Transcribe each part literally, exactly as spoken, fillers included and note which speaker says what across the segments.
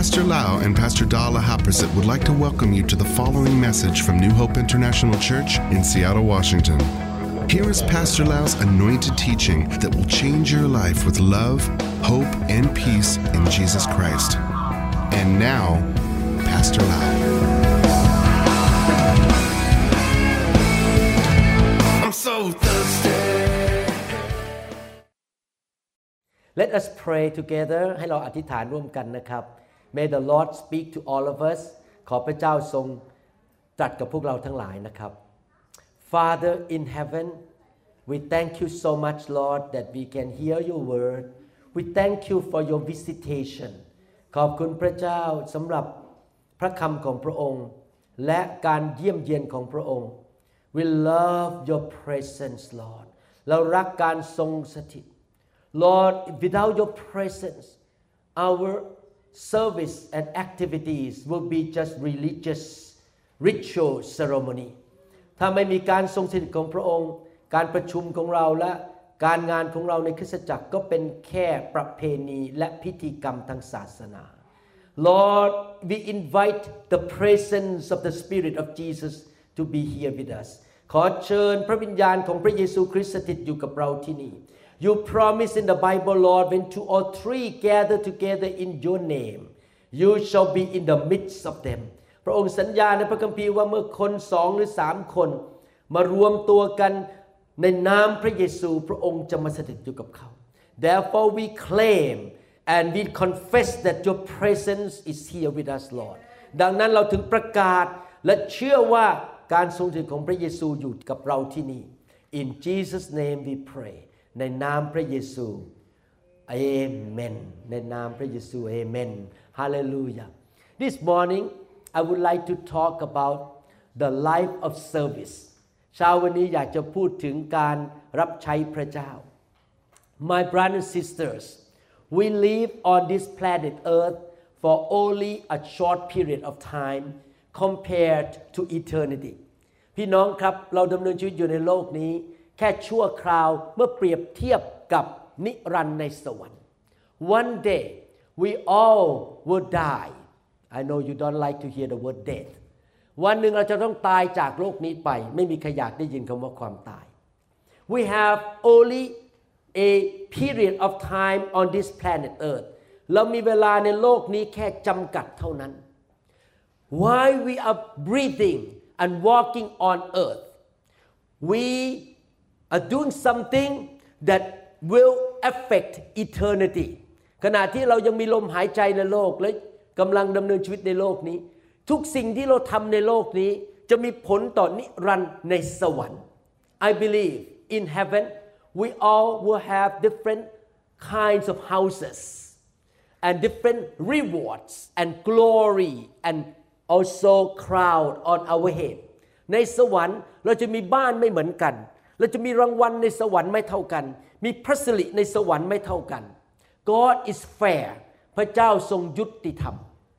Speaker 1: Pastor Lau and Pastor Dala Haprasit would like to welcome you to the following message from New Hope International Church in Seattle, Washington. Here is Pastor Lau's anointed teaching that will change your life with love, hope, and peace in Jesus Christ. And now, Pastor Lau. I'm so thirsty.
Speaker 2: Let us pray together ให้เราอธิษฐานร่วมกันนะครับ May the Lord speak to all of us ขอพระเจ้าทรงตรัสกับพวกเราทั้งหลายนะครับ Father in heaven we thank you so much Lord that we can hear your word we thank you for your visitation ขอบคุณพระเจ้าสำหรับพระคำของพระองค์และการเยี่ยมเยียนของพระองค์ We love your presence Lord เรารักการทรงสถิตLord, without your presence, our service and activities will be just religious ritual ceremony. ถ้าไม่มีการทรงสถิตของพระองค์การประชุมของเราและการงานของเราในคริสตจักรก็เป็นแค่ประเพณีและพิธีกรรมทางศาสนา Lord, we invite the presence of the Spirit of Jesus to be here with us. ขอเชิญพระวิญญาณของพระเยซูคริสต์สถิตอยู่กับเราที่นี่You promise in the Bible, Lord, when two or three gather together in your name, you shall be in the midst of them. พระองค์สัญญาในพระคัมภีร์ว่าเมื่อคนสองหรือสามคนมารวมตัวกันในนามพระเยซูพระองค์จะมาสถิตอยู่กับเขา Therefore we claim and we confess that your presence is here with us, Lord. ดังนั้นเราถึงประกาศและเชื่อว่าการทรงสถิตของพระเยซูอยู่กับเราที่นี่ In Jesus' name we pray.ในนามพระเยซูเอเมนในนามพระเยซูเอเมน Hallelujah This morning I would like to talk about the life of service เช้าวันนี้อยากจะพูดถึงการรับใช้พระเจ้า My brothers and sisters we live on this planet Earth for only a short period of time compared to eternity พี่น้องครับเราดำเนินชีวิตอยู่ในโลกนี้แค่ชั่วคราวเมื่อเปรียบเทียบกับนิรันดร์ในสวรรค์ One day we all will die I know you don't like to hear the word death วันหนึ่งเราจะต้องตายจากโลกนี้ไปไม่มีใครอยากได้ยินคำว่าความตาย We have only a period of time on this planet Earth เรามีเวลาในโลกนี้แค่จำกัดเท่านั้น While we are breathing and walking on earth we are doing something that will affect eternity ขณะที่เรายังมีลมหายใจในโลกและกำลังดำเนินชีวิตในโลกนี้ทุกสิ่งที่เราทำในโลกนี้จะมีผลต่อนิรันดร์ในสวรรค์ I believe in heaven we all will have different kinds of houses and different rewards and glory and also crown on our head ในสวรรค์เราจะมีบ้านไม่เหมือนกันเราจะมีรางวัลในสวรรค์ไม่เท่ากันมีพระสิริในสวรรค์ไม่เท่ากัน God is fair พระเจ้าทรงยุติธรรม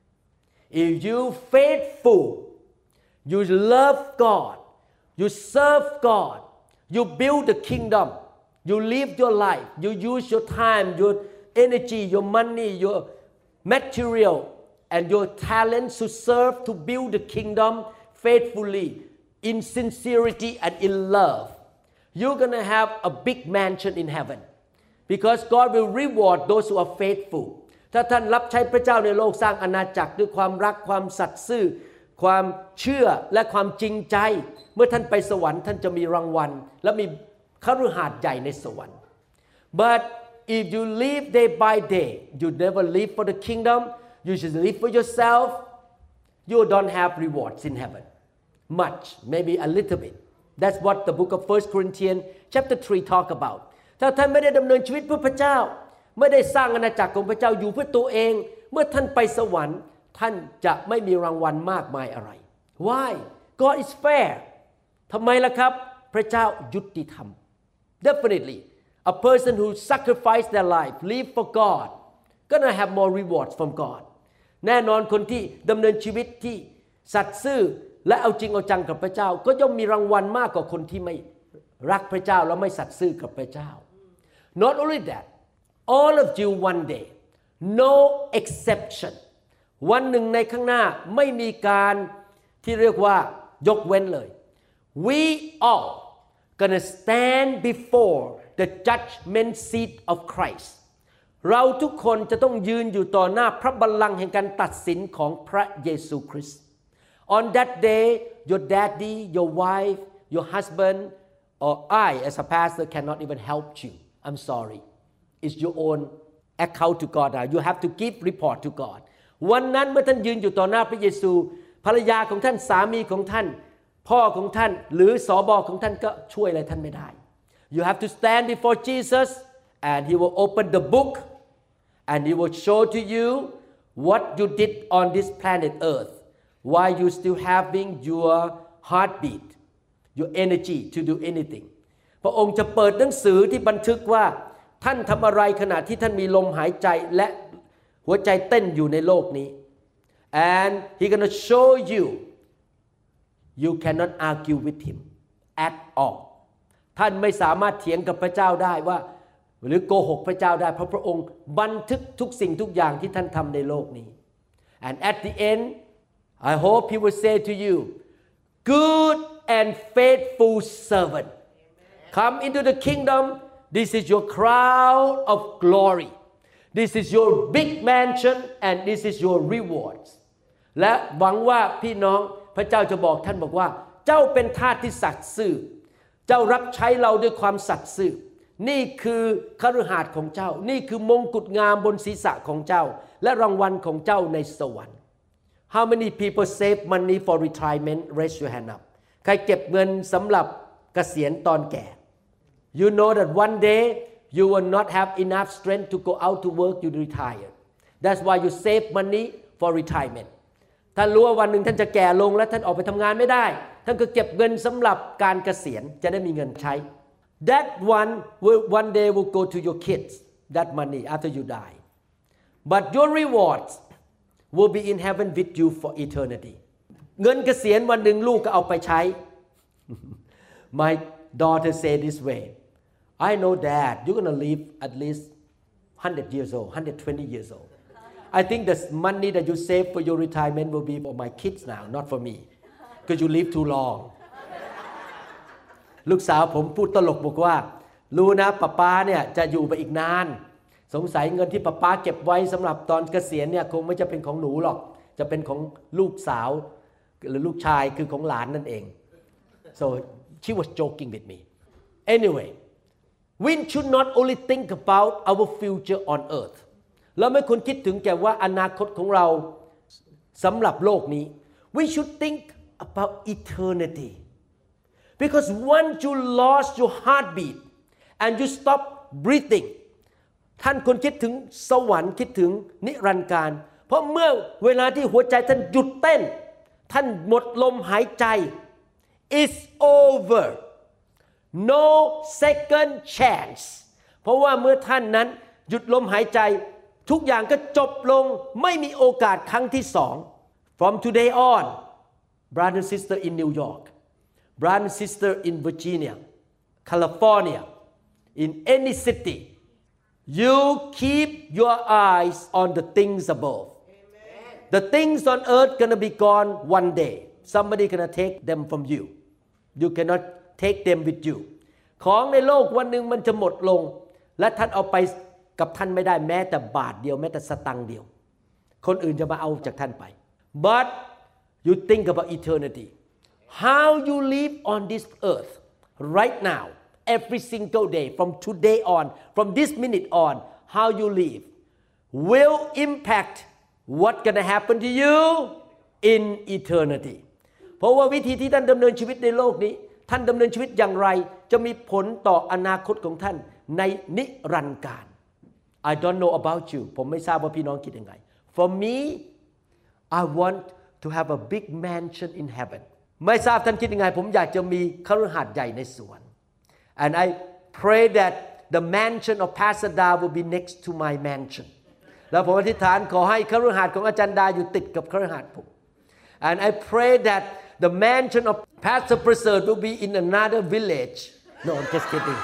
Speaker 2: If you faithful you love God you serve God you build the kingdom you live your life you use your time your energy your money your material and your talent to serve to build the kingdom faithfully in sincerity and in love You're going to have a big mansion in heaven because God will reward those who are faithful ถ้าท่านรับใช้พระเจ้าในโลกสร้างอาณาจักรด้วยความรักความสัตย์ซื่อความเชื่อและความจริงใจเมื่อท่านไปสวรรค์ท่านจะมีรางวัลและมีคฤหาสน์ใหญ่ในสวรรค์ But if you live day by day you never live for the kingdom you just live for yourself you don't have rewards in heaven much maybe a little bit That's what the book of First Corinthians chapter three talk about ถ้าท่านไม่ได้ดำเนินชีวิตเพื่อพระเจ้าไม่ได้สร้างอาณาจักรของพระเจ้าอยู่เพื่อตัวเองเมื่อท่านไปสวรรค์ท่านจะไม่มีรางวัลมากมายอะไร Why? God is fair ทำไมล่ะครับพระเจ้ายุติธรรม Definitely a person who sacrifice their life live for God gonna have more rewards from God แน่นอนคนที่ดำเนินชีวิตที่สัตย์ซื่อและเอาจริงเอาจังกับพระเจ้าก็ย่อมมีรางวัลมากกว่าคนที่ไม่รักพระเจ้าและไม่สัตย์ซื่อกับพระเจ้า Not only that all of you one day no exception วันหนึ่งในข้างหน้าไม่มีการที่เรียกว่ายกเว้นเลย we all gonna stand before the judgment seat of Christ เราทุกคนจะต้องยืนอยู่ต่อหน้าพระบัลลังก์แห่งการตัดสินของพระเยซูคริสต์ On that day your daddy your wife your husband or I as a pastor cannot even help you I'm sorry it's your own account to God now you have to give report to God วันนั้นเมื่อท่านยืนอยู่ต่อหน้าพระเยซูภรรยาของท่านสามีของท่านพ่อของท่านหรือสบของท่านก็ช่วยอะไรท่านไม่ได้ You have to stand before Jesus and he will open the book and he will show to you what you did on this planet earth why you still having your heartbeat your energy to do anything พระองค์จะเปิดหนังสือที่บันทึกว่าท่านทำอะไรขณะที่ท่านมีลมหายใจและหัวใจเต้นอยู่ในโลกนี้ and he gonna show you you cannot argue with him at all ท่านไม่สามารถเถียงกับพระเจ้าได้ว่าหรือโกหกพระเจ้าได้เพราะพระองค์บันทึกทุกสิ่งทุกอย่างที่ท่านทำในโลกนี้ and at the end I hope he will say to you good and faithful servant come into the kingdom this is your crown of glory this is your big mansion and this is your rewards และหวังว่าพี่น้องพระเจ้าจะบอกท่านบอกว่าเจ้าเป็นทาสที่สัตย์ซื่อเจ้ารับใช้เราด้วยความสัตย์ซื่อนี่คือคฤหาสน์ของเจ้านี่คือมงกุฎงามบนศีรษะของเจ้าและรางวัลของเจ้าในสวรรค์ How many people save money for retirement raise your hand up ใครเก็บเงินสำหรับเกษียณตอนแก่ You know that one day you will not have enough strength to go out to work you retire That's why you save money for retirement ท่านรู้ว่าวันหนึ่งท่านจะแก่ลงและท่านออกไปทำงานไม่ได้ท่านก็เก็บเงินสำหรับการเกษียณจะได้มีเงินใช้ That one will one day will go to your kids that money after you die but your rewards will be in heaven with you for eternity เงินเกษียณวันหนึ่งลูกก็เอาไปใช้ My daughter say this way I know dad you're gonna live at least one hundred years old one hundred twenty years old I think the money that you save for your retirement will be for my kids now not for me because you live too long ลูกสาวผมพูดตลกบอกว่ารู้นะป๊าป๊าเนี่ยจะอยู่ไปอีกนานสงสัยเงินที่ป๊าป๊าเก็บไว้สำหรับตอนเกษียณเนี่ยคงไม่จะเป็นของหนูหรอกจะเป็นของลูกสาวหรือลูกชายคือของหลานนั่นเอง so she was joking with me anyway we should not only think about our future on earth เราไม่ควรคิดถึงแค่ว่าอนาคตของเราสำหรับโลกนี้ we should think about eternity because once you lost your heartbeat and you stop breathing ท่านควรคิดถึงสวรรค์คิดถึงนิรันดร์การเพราะเมื่อเวลาที่หัวใจท่านหยุดเต้นท่านหมดลมหายใจ it's over no second chance เพราะว่าเมื่อท่านนั้นหยุดลมหายใจทุกอย่างก็จบลงไม่มีโอกาสครั้งที่สอง from today on brother and sister in New York brother and sister in Virginia California in any city you keep your eyes on the things above Amen. The things on earth gonna be gone one day somebody gonna take them from you you cannot take them with you ของในโลกวันหนึ่งมันจะหมดลงและท่านเอาไปกับท่านไม่ได้แม้แต่บาทเดียวแม้แต่สตังค์เดียวคนอื่นจะมาเอาจากท่านไป but you think about eternity how you live on this earth right now every single day from today on from this minute on how you live will impact what gonna happen to you in eternity เพราะว่าวิธีที่ท่านดำเนินชีวิตในโลกนี้ท่านดำเนินชีวิตอย่างไรจะมีผลต่ออนาคตของท่านในนิรันดร์การ I don't know about you ผมไม่ทราบว่าพี่น้องคิดยังไง For me I want to have a big mansion in heaven ไม่ทราบท่านคิดยังไงผมอยากจะมีคฤหาสน์ใหญ่ในสวรรค์ and I pray that the mansion of Pastor Da will be next to my mansion แล้วผมอธิษฐานขอให้คฤหาสน์ของอาจารย์ดาอยู่ติดกับคฤหาสน์ผม and I pray that the mansion of Pastor Preserve will be in another village no I'm just kidding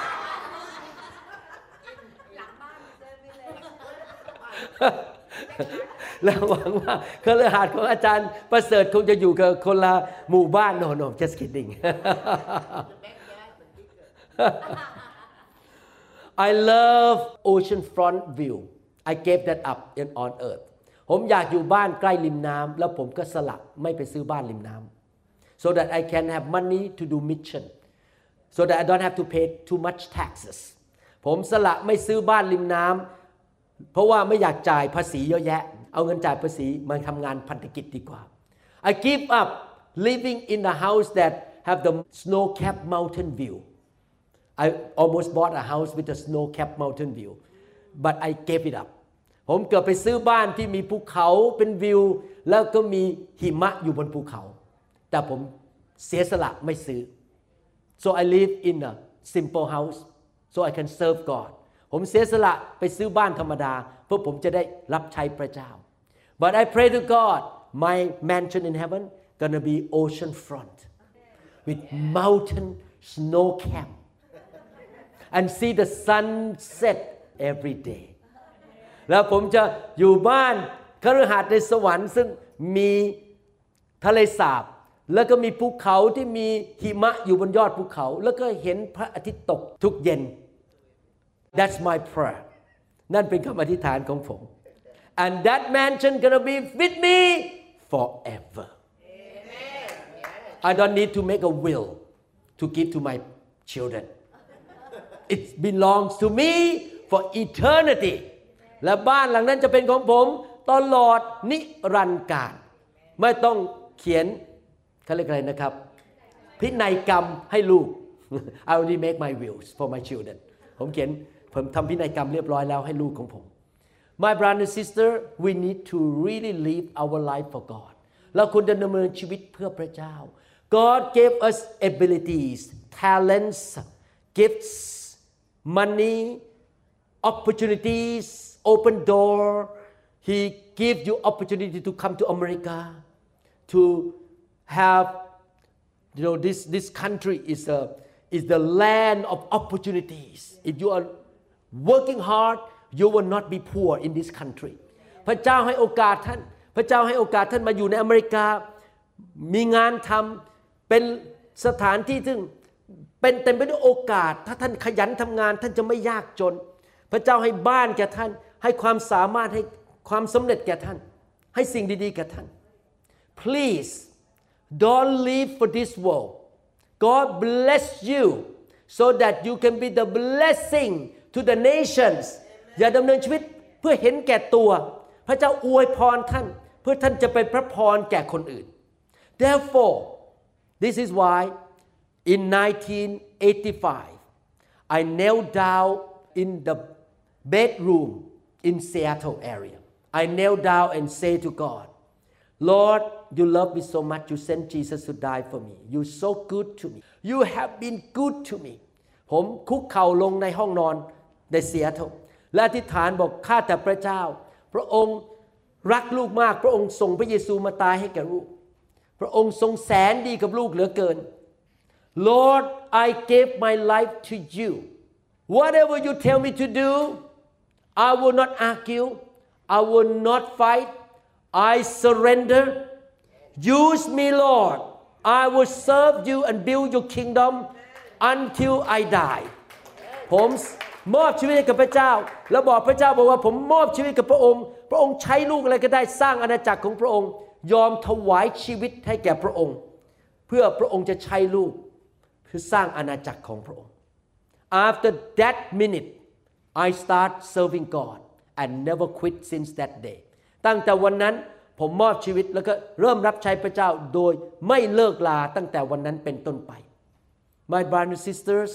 Speaker 2: และหวังว่าคฤหาสน์ของอาจารย์ประเสริฐคงจะอยู่กับคนละหมู่บ้าน no no just kidding I love oceanfront view I gave that up in on earth ผมอยากอยู่บ้านใกล้ริมน้ำแล้วผมก็สละไม่ไปซื้อบ้านริมน้ำ so that I can have money to do mission so that I don't have to pay too much taxes ผมสละไม่ซื้อบ้านริมน้ำเพราะว่าไม่อยากจ่ายภาษีเยอะแยะเอาเงินจ่ายภาษีมาทำงานพันธกิจดีกว่า I give up living in a house that have the snow-capped mountain view I almost bought a house with a snow-capped mountain view but I gave it up ผมเกือบไปซื้อบ้านที่มีภูเขาเป็นวิวแล้วก็มีหิมะอยู่บนภูเขาแต่ผมเสียสละไม่ซื้อ so I live in a simple house so I can serve God ผมเสียสละไปซื้อบ้านธรรมดาเพื่อผมจะได้รับใช้พระเจ้า but I pray to God my mansion in heaven gonna be ocean front with mountain snow cap and see the sunset every day แล้วผมจะอยู่บ้านคฤหาสน์ในสวรรค์ซึ่งมีทะเลสาบแล้วก็มีภูเขาที่มีหิมะอยู่บนยอดภูเขาแล้วก็เห็นพระอาทิตย์ตกทุกเย็น That's my prayer นั่นเป็นคำอธิษฐานของผม and that mansion gonna be with me forever I don't need to make a will to give to my children it belongs to me for eternity และบ้านหลังนั้นจะเป็นของผมตลอดนิรันดร์กาลไม่ต้องเขียนเขาเรียกอะไรนะครับพินัยกรรมให้ลูก I already make my wills for my children ผมเขียนผมทำพินัยกรรมเรียบร้อยแล้วให้ลูกของผม My brother and sister we need to really live our life for God เราควรจะดำเนินชีวิตเพื่อพระเจ้า God gave us abilities talents gifts money opportunities open door He give you opportunity to come to America to have you know this this country is a is the land of opportunities if you are working hard you will not be poor in this country พระเจ้าให้โอกาสท่านพระเจ้าให้โอกาสท่านมาอยู่ในอเมริกามีงานทำเป็นสถานที่ซึ่งเป็นเต็มไปด้วยโอกาสถ้าท่านขยันทำงานท่านจะไม่ยากจนพระเจ้าให้บ้านแก่ท่านให้ความสามารถให้ความสำเร็จแก่ท่านให้สิ่งดีๆแก่ท่าน Please don't live for this world God bless you so that you can be the blessing to the nations อย่าดำเนินชีวิตเพื่อเห็นแก่ตัวพระเจ้าอวยพรท่านเพื่อท่านจะเป็นพระพรแก่คนอื่น Therefore this is why in nineteen eighty-five I knelt down in the bedroom in Seattle area I knelt down and say to God Lord you love me so much you sent Jesus to die for me you so good to me you have been good to me ผมคุกเข่าลงในห้องนอนในเซียโตรและอธิษฐานบอกข้าแต่พระเจ้าพระองค์รักลูกมากพระองค์ส่งพระเยซูมาตายให้แก่ลูกพระองค์ทรงแสนดีกับลูกเหลือเกิน Lord I gave my life to you whatever you tell me to do I will not argue I will not fight I surrender use me Lord I will serve you and build your kingdom until I die ผมมอบชีวิตให้กับพระเจ้าแล้วบอกพระเจ้าบอกว่าผมมอบชีวิตกับพระองค์พระองค์ใช้ลูกอะไรก็ได้สร้างอาณาจักรของพระองค์ยอมถวายชีวิตให้แก่พระองค์เพื่อพระองค์จะใช้ลูกเพื่อสร้างอาณาจักรของพระองค์ After that minute I start serving God and never quit since that day ตั้งแต่วันนั้นผมมอบชีวิตแล้วก็เริ่มรับใช้พระเจ้าโดยไม่เลิกลาตั้งแต่วันนั้นเป็นต้นไป My brothers and sisters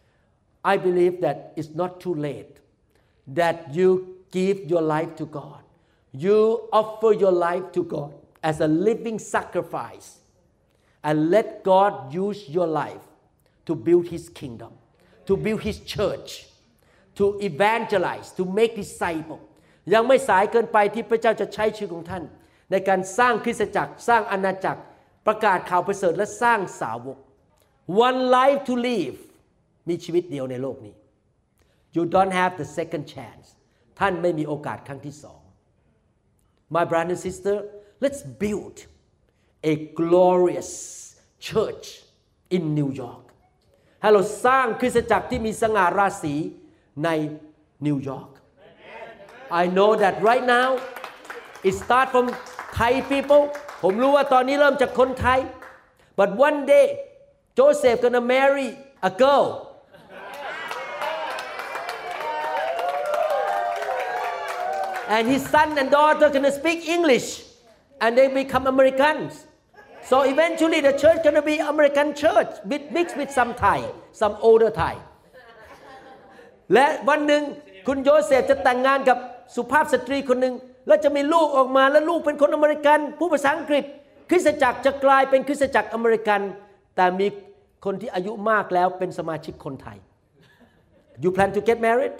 Speaker 2: I believe that it's not too late that you give your life to God you offer your life to God as a living sacrifice and let God use your life to build His kingdom to build His church to evangelize to make disciples ยังไม่สายเกินไปที่พระเจ้าจะใช้ชีวิตของท่านในการสร้างคริสตจักรสร้างอาณาจักรประกาศข่าวประเสริฐและสร้างสาวก one life to live มีชีวิตเดียวในโลกนี้ you don't have the second chance ท่านไม่มีโอกาสครั้งที่สอง my brother and sister let's build a glorious church in New York ให้เราสร้างคริสตจักรที่มีสง่าราศีในนิวยอร์ก I know that right now it start from Thai people ผมรู้ว่าตอนนี้เริ่มจากคนไทย but one day Joseph gonna marry a girl and his son and daughter gonna speak English and they become Americans so eventually the church gonna be American church with mixed with some Thai some older Thai และวันหนึ่งคุณโยเซฟจะแต่งงานกับสุภาพสตรีคนหนึ่งแล้วจะมีลูกออกมาแล้วลูกเป็นคนอเมริกันผู้ภาษาอังกฤษคริสตจักรจะกลายเป็นคริสตจักรอเมริกันแต่มีคนที่อายุมากแล้วเป็นสมาชิกคนไทย You plan to get married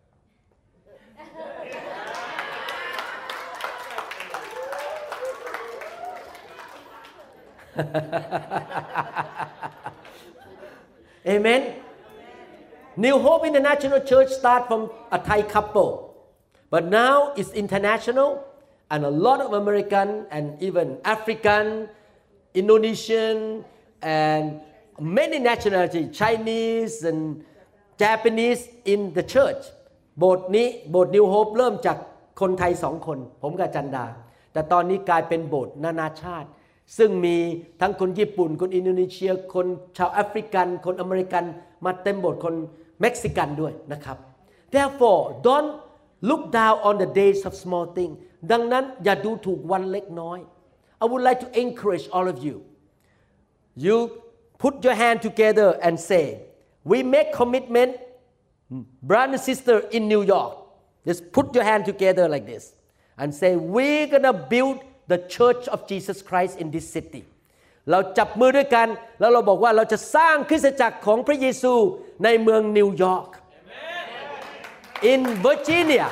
Speaker 2: Amen New Hope International Church start from a Thai couple but now it's international and a lot of American and even African Indonesian and many nationalities Chinese and Japanese in the church โบสถ์นี้โบสถ์ New Hope เริ่มจากคนไทยสองคนผมกับจันดาแต่ตอนนี้กลายเป็นโบสถ์นานาชาติซึ่งมีทั้งคนญี่ปุ่นคนอินโดนีเซียคนชาวแอฟริกันคนอเมริกันมาเต็มโบสถ์คนเม็กซิกันด้วยนะครับ Therefore don't look down on the days of small thing ดังนั้นอย่าดูถูกวันเล็กน้อย I would like to encourage all of you you put your hand together and say we make commitment brother and sister in New York just put your hand together like this and say we're gonna build the church of Jesus Christ in this city เราจับมือด้วยกันแล้วเราบอกว่าเราจะสร้างคริสตจักรของพระเยซูในเมืองนิวยอร์ก in Virginia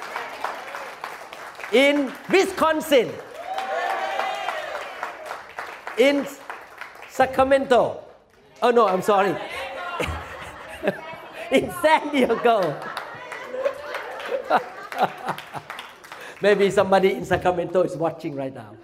Speaker 2: in Wisconsin in Sacramento oh no I'm sorry in San Diego maybe somebody in Sacramento is watching right now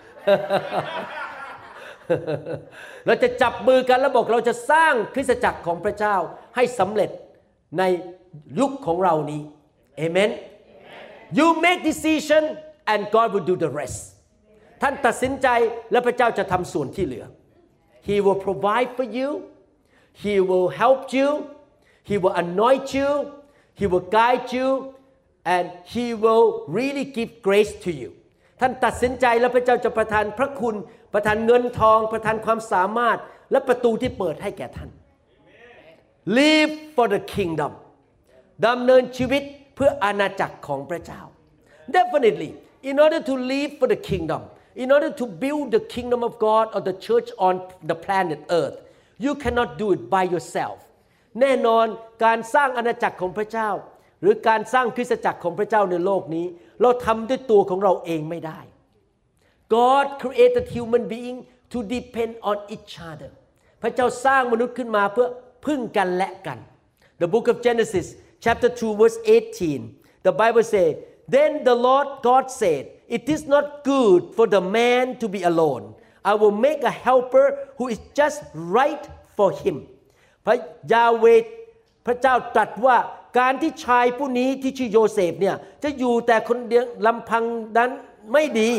Speaker 2: เราจะจับมือกันแล้วบอกเราจะสร้างคริสตจักรของพระเจ้าให้สำเร็จในยุคของเรานี้ Amen You make decision and God will do the rest ท่านตัดสินใจและพระเจ้าจะทำส่วนที่เหลือ He will provide for you He will help you He will anoint you He will guide you and He will really give grace to you ท่านตัดสินใจแล้วพระเจ้าจะประทานพระคุณประทานเงินทองประทานความสามารถและประตูที่เปิดให้แก่ท่าน Live for the kingdom ดำเนินชีวิตเพื่ออาณาจักรของพระเจ้า Definitely in order to live for the kingdom in order to build the kingdom of God or the church on the planet earth you cannot do it by yourself แน่นอนการสร้างอาณาจักรของพระเจ้าหรือการสร้างคริสตจักรของพระเจ้าในโลกนี้เราทำด้วยตัวของเราเองไม่ได้ God created human being to depend on each other พระเจ้าสร้างมนุษย์ขึ้นมาเพื่อพึ่งกันและกัน The book of Genesis chapter two verse eighteen the Bible says Then the Lord God said it is not good for the man to be alone I will make a helper who is just right for him พระยาเวห์พระเจ้าตรัสว่าการที่ชายผู้นี้ที่ชื่อโยเซฟเนี่ยจะอยู่แต่คนเดียวลำพังนั้นไม่ดี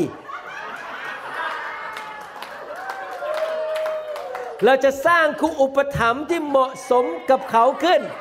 Speaker 2: เราจะสร้างคู่อุปถัมภ์ที่เหมาะสมกับเขาขึ้น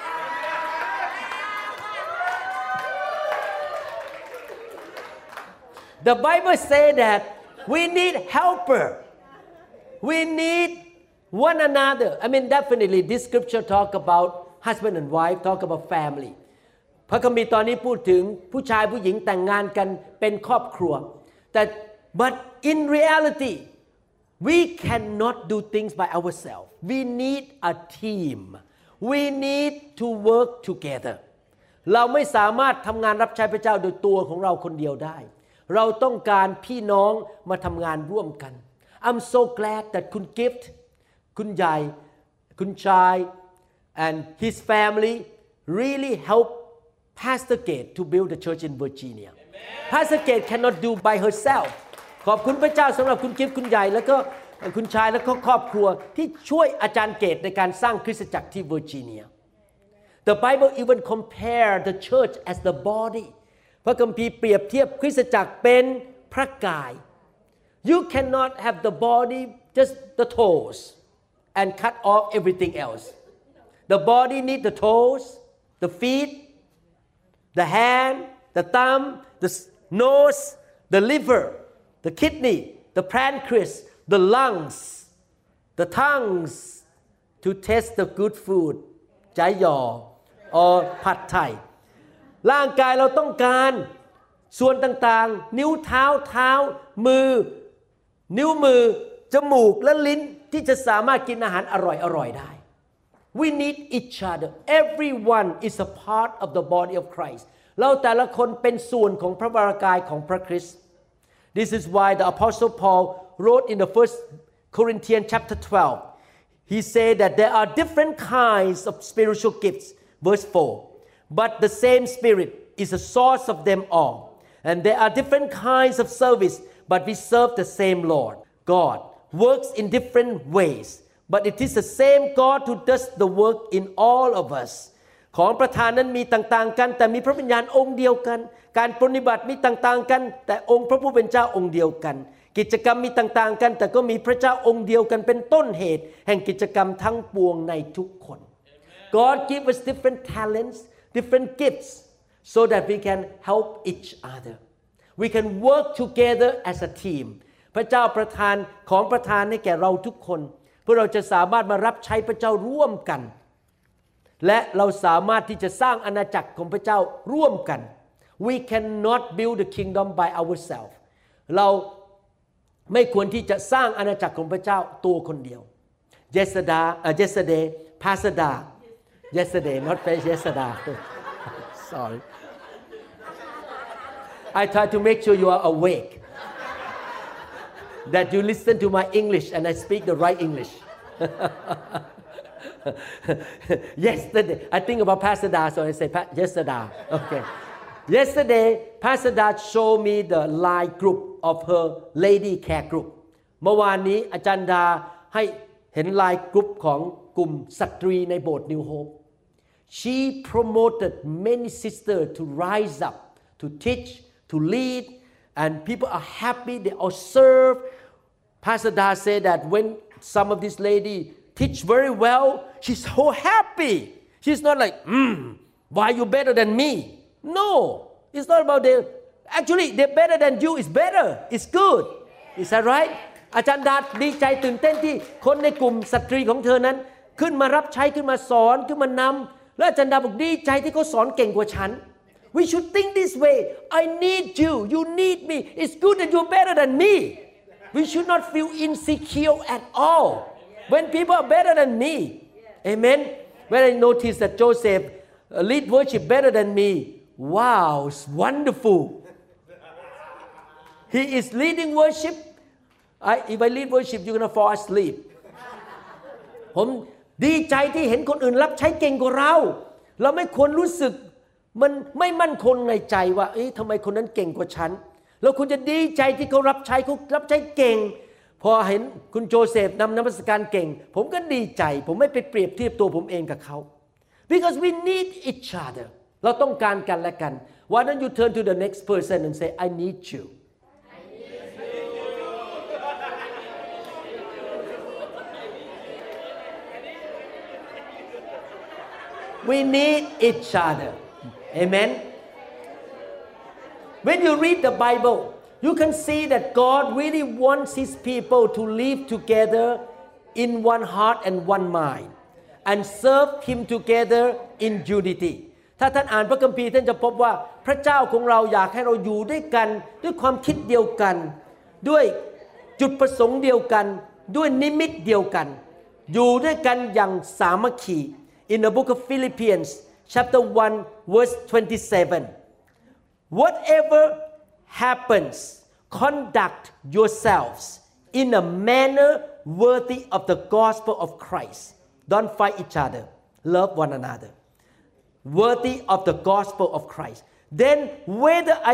Speaker 2: The Bible say that we need helper we need one another I mean definitely this scripture talk about husband and wife talk about family พระคัมภีร์ตอนนี้พูดถึงผู้ชายผู้หญิงแต่งงานกันเป็นครอบครัวแต่ but in reality we cannot do things by ourselves we need a team we need to work together เราไม่สามารถทำงานรับใช้พระเจ้าโดยตัวของเราคนเดียวได้เราต้องการพี่น้องมาทำงานร่วมกัน I'm so glad that คุณกิฟต์คุณใหญ่คุณชายand his family really helped Pastor Gate to build a church in Virginia Pastor Kate cannot do by herself ขอบคุณพระเจ้าสำหรับคุณกิฟต์คุณใหญ่แล้วก็คุณชายและก็ครอบครัวที่ช่วยอาจารย์เกตในการสร้างคริสตจักรที่เวอร์จิเนีย The Bible even compare the church as the body พระคัมภีร์เปรียบเทียบคริสตจักรเป็นพระกาย You cannot have the body just the toes and cut off everything else The body need the toes the feet the hand the thumb the nose the liver the kidney the pancreas the lungs the tongues to taste the good food ใจหยอ or ผัดไทยร่างกายเราต้องการส่วนต่างๆนิ้วเท้าเท้ามือนิ้วมือจมูกและลิ้นที่จะสามารถกินอาหารอร่อยๆได้ We need each other everyone is a part of the body of Christ เราแต่ละคนเป็นส่วนของพระวรากายของพระคริสต์ This is why the Apostle Paul wrote in the First Corinthians chapter twelve he said that there are different kinds of spiritual gifts verse four but the same Spirit is the source of them all and there are different kinds of service but we serve the same Lord God works in different ways but it is the same God who does the work in all of us ของประธานนั้นมีต่างๆกันแต่มีพระวิญญาณองค์เดียวกันการปฏิบัติมีต่างๆกันแต่องค์พระผู้เป็นเจ้าองค์เดียวกันกิจกรรมมีต่างๆกันแต่ก็มีพระเจ้าองค์เดียวกันเป็นต้นเหตุแห่งกิจกรรมทั้งปวงในทุกคน God give us different talents different gifts so that we can help each other we can work together as a team พระเจ้าประทานของประทานให้แก่เราทุกคนเพื่อเราจะสามารถมารับใช้พระเจ้าร่วมกันและเราสามารถที่จะสร้างอาณาจักรของพระเจ้าร่วมกัน we cannot build the kingdom by ourselves เราไม่ควรที่จะสร้างอาณาจักรของพระเจ้าตัวคนเดียว yesterday uh, yesterday Pastor Da yesterday not yesterday sorry I try to make sure you are awake that you listen to my English and I speak the right English yesterday I think about Pastor Da so I say yesterday okay yesterday Pastor Da showed me the line group of her lady care group เมื่อวานนี้อาจารย์ดาให้เห็นไลน์กรุ๊ปของกลุ่มสตรีในโบสถ์ New Hope she promoted many sisters to rise up to teach to lead and people are happy they all serve Pastor Da said that when some of these lady teach very well she's so happy she's not like mm, why you better than me no it's not about the actually they're better than you is better it's good is that right อาจารย์ดาดีใจตื่นเต้นที่คนในกลุ่มสตรีของเธอนั้นขึ้นมารับใช้ขึ้นมาสอนขึ้นมานำและอาจารย์ดาบอกดีใจที่เขาสอนเก่งกว่าฉัน we should think this way I need you you need me it's good that you're better than me we should not feel insecure at all when people are better than me amen when I notice that Joseph lead worship better than me wow it's wonderful he is leading worship I, if I lead worship you're gonna fall asleep ผมดีใจที่เห็นคนอื่นรับใช้เก่งกว่าเราเราไม่ควรรู้สึกมันไม่มั่นคงในใจว่าเอ๊ะทำไมคนนั้นเก่งกว่าฉันเราควรจะดีใจที่เขารับใช้เขารับใช้เก่งพอเห็นคุณโจเซฟนำนมัสการเก่งผมก็ดีใจผมไม่ไปเปรียบเทียบตัวผมเองกับเขา because we need each other เราต้องการกันและกัน why don't you turn to the next person and say I need you we need each other amen when you read the Bible you can see that God really wants his people to live together in one heart and one mind and serve him together in unity ถ้าท่านอ่านพระคัมภีร์ท่านจะพบว่าพระเจ้าของเราอยากให้เราอยู่ด้วยกันด้วยความคิดเดียวกันด้วยจุดประสงค์เดียวกันด้วยนิมิตเดียวกันอยู่ด้วยกันอย่างสามัคคี in the book of Philippians chapter one verse twenty-seven whatever happens conduct yourselves in a manner worthy of the gospel of Christ don't fight each other love one another worthy of the gospel of Christ then whether I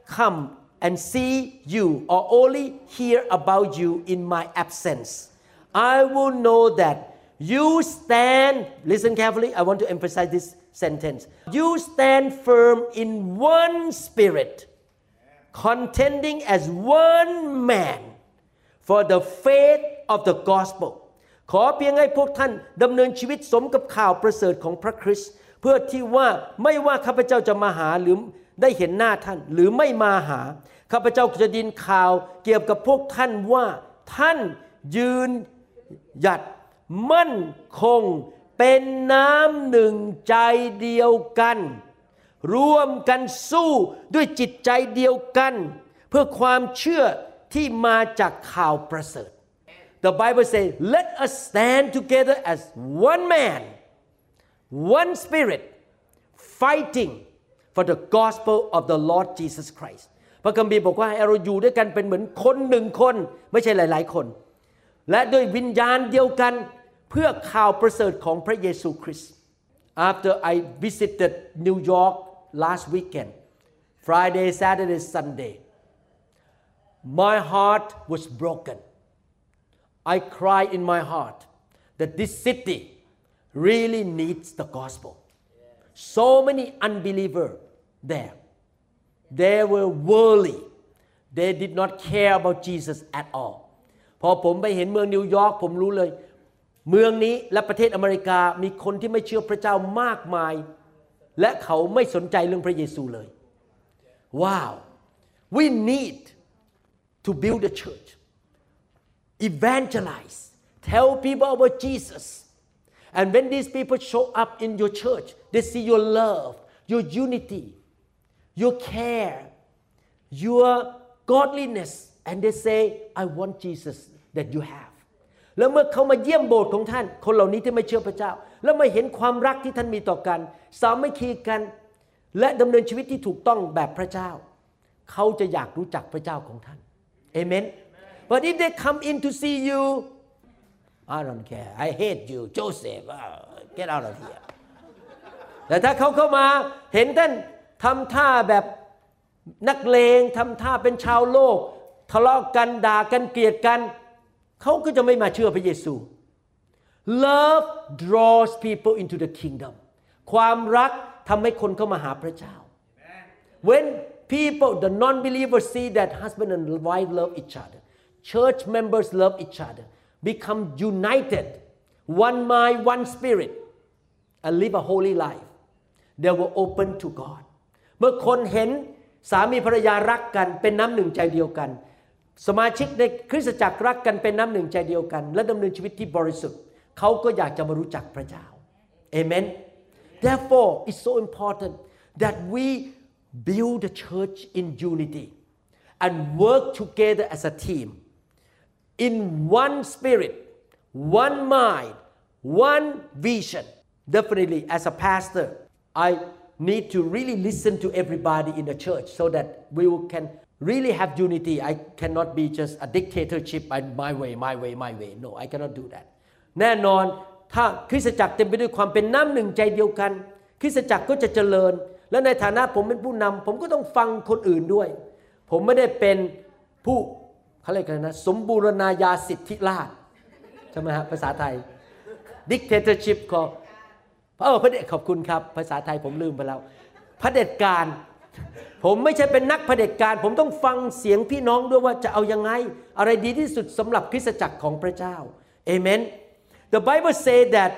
Speaker 2: come and see you or only hear about you in my absence, I will know that you stand, listen carefully, I want to emphasize this sentence. You stand firm in one spirit, contending as one man for the faith of the gospel. ขอเพียงให้พวกท่านดำเนินชีวิตสมกับข่าวประเสริฐของพระคริสต์เพื่อที่ว่าไม่ว่าข้าพเจ้าจะมาหาหรือได้เห็นหน้าท่านหรือไม่มาหาข้าพเจ้าจะดินข่าวเกี่ยวกับพวกท่านว่าท่านยืนหยัดมั่นคงเป็นน้ำหนึ่งใจเดียวกันร่วมกันสู้ด้วยจิตใจเดียวกันเพื่อความเชื่อที่มาจากข่าวประเสริฐ The Bible says let us stand together as one man one spirit fighting for the gospel of the Lord Jesus Christ พระคัมภีร์บอกว่าให้เราอยู่ด้วยกันเป็นเหมือนคนหนึ่งคนไม่ใช่หลายๆคนและด้วยวิญญาณเดียวกันเพื่อข่าวประเสริฐของพระเยซูคริสต์ After I visited New York last weekend Friday Saturday Sunday my heart was broken I cried in my heart that this city really needs the gospel so many unbelievers there they were worldly they did not care about Jesus at all พอผมไปเห็นเมืองนิวยอร์กผมรู้เลยเมืองนี้และประเทศอเมริกามีคนที่ไม่เชื่อพระเจ้ามากมายและเขาไม่สนใจเรื่องพระเยซูเลยว้าว we need to build a church evangelize tell people about Jesus and when these people show up in your church they see your love your unity your care your godliness and they say I want Jesus that you haveแล้วเมื่อเขามาเยี่ยมโบสถ์ของท่านคนเหล่านี้ที่ไม่เชื่อพระเจ้าแล้วมาเห็นความรักที่ท่านมีต่อกันสามัคคีกันและดำเนินชีวิตที่ถูกต้องแบบพระเจ้าเขาจะอยากรู้จักพระเจ้าของท่านเอเมน But if they come in to see you I don't care I hate you Joseph get out of here แต่ถ้าเขาเข้ามาเห็นท่านทำท่าแบบนักเลงทำท่าเป็นชาวโลกทะเลาะกันด่ากันเกลียดกันเขาก็จะไม่มาเชื่อพระเยซู Love draws people into the kingdom ความรักทำให้คนเข้ามาหาพระเจ้า When people the non-believers see that husband and wife love each other church members love each other become united one mind one spirit and live a holy life they will open to God เมื่อคนเห็นสามีภรรยารักกันเป็นน้ำหนึ่งใจเดียวกันสมาชิกในคริสตจักรรักกันเป็นน้ำหนึ่งใจเดียวกันและดำเนินชีวิตที่บริสุทธิ์เขาก็อยากจะมารู้จักพระเจ้าเอเมน Therefore it's so important that we build the church in unity and work together as a team in one spirit one mind one vision definitely as a pastor I need to really listen to everybody in the church so that we can really have unity I cannot be just a dictatorship by my way my way my way no I cannot do that แน่นอนถ้าคริสตจักรเต็มไปด้วยความเป็นน้ำหนึ่งใจเดียวกันคริสตจักรก็จะเจริญและในฐานะผมเป็นผู้นำผมก็ต้องฟังคนอื่นด้วยผมไม่ได้เป็นผู้เขาเรียกกันนะสมบูรณาญาสิทธิราชใช่ไหมฮะภาษาไทย dictatorship ก็เออพระเดชขอบคุณครับภาษาไทยผมลืมไปแล้วเผด็จการผมไม่ใช่เป็นนักเผด็จการผมต้องฟังเสียงพี่น้องด้วยว่าจะเอายังไงอะไรดีที่สุดสำหรับคริสตจักรของพระเจ้าเอเมน The Bible say that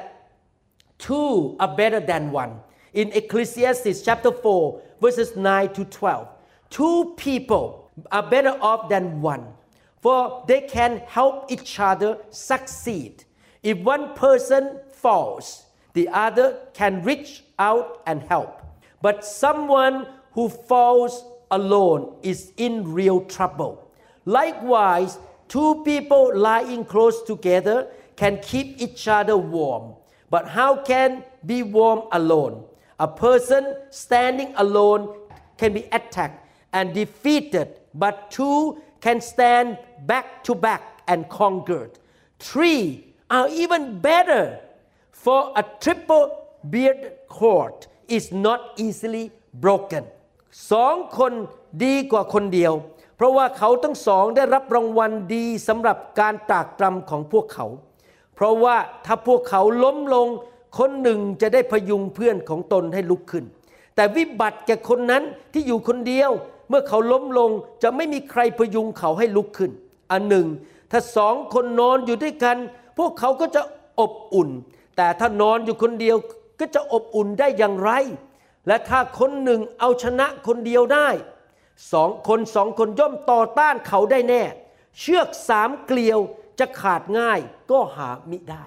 Speaker 2: two are better than one in Ecclesiastes chapter four verses nine to twelve two people are better off than one for they can help each other succeed if one person falls the other can reach out and help but someone who falls alone is in real trouble. Likewise, two people lying close together can keep each other warm. But how can be warm alone? A person standing alone can be attacked and defeated, but two can stand back to back and conquered. Three are even better, for a triple beard cord is not easily broken.สองคนดีกว่าคนเดียวเพราะว่าเขาทั้งสองได้รับรางวัลดีสำหรับการตรากตรำของพวกเขาเพราะว่าถ้าพวกเขาล้มลงคนหนึ่งจะได้พยุงเพื่อนของตนให้ลุกขึ้นแต่วิบัติแก่คนนั้นที่อยู่คนเดียวเมื่อเขาล้มลงจะไม่มีใครพยุงเขาให้ลุกขึ้นอันหนึ่งถ้าสองคนนอนอยู่ด้วยกันพวกเขาก็จะอบอุ่นแต่ถ้านอนอยู่คนเดียวก็จะอบอุ่นได้อย่างไรและถ้าคนหนึ่งเอาชนะคนเดียวได้สองคนสองคนย่อมต่อต้านเขาได้แน่เชือกสามเกลียวจะขาดง่ายก็หามิได้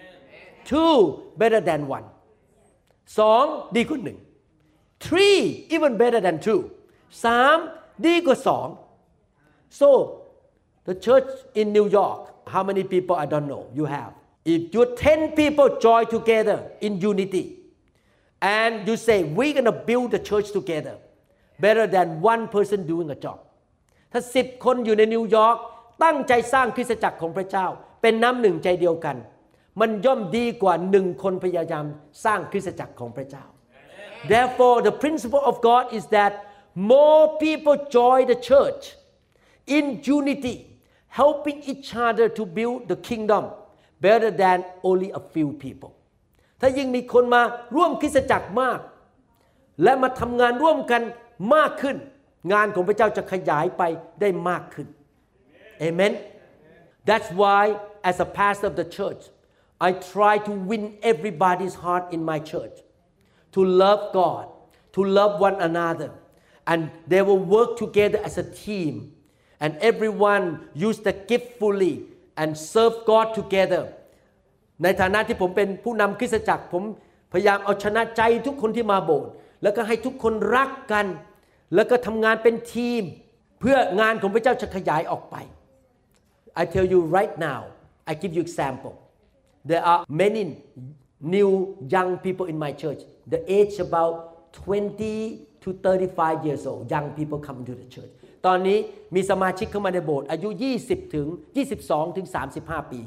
Speaker 2: two better than one สองดีกว่าหนึ่ง three even better than two สามดีกว่าสอง so the church in New York how many people I don't know you have if you ten people join together in unity and you say we're gonna build the church together better than one person doing a job ถ้าสิบคนอยู่ในนิวยอร์กตั้งใจสร้างคริสตจักรของพระเจ้าเป็นน้ำหนึ่งใจเดียวกันมันย่อมดีกว่าหนึ่งคนพยายามสร้างคริสตจักรของพระเจ้า Therefore the principle of God is that more people join the church in unity helping each other to build the kingdom better than only a few people ถ้ายิ่งมีคนมาร่วมคริสตจักรมากและมาทำงานร่วมกันมากขึ้นงานของพระเจ้าจะขยายไปได้มากขึ้น Amen That's why as a pastor of the church I try to win everybody's heart in my church to love God to love one another and they will work together as a team and everyone use the gift fully and serve God together ในฐานะที่ผมเป็นผู้นำคริสตจักรผมพยายามเอาชนะใจทุกคนที่มาโบสถ์แล้วก็ให้ทุกคนรักกันแล้วก็ทำงานเป็นทีมเพื่องานของพระเจ้าจะขยายออกไป I tell you right now I give you example there are many new young people in my church the age about twenty to thirty-five years old young people come into the church ตอนนี้มีสมาชิกเข้ามาในโบสถ์อายุยี่สิบถึงยี่สิบสองถึงสามสิบห้าปี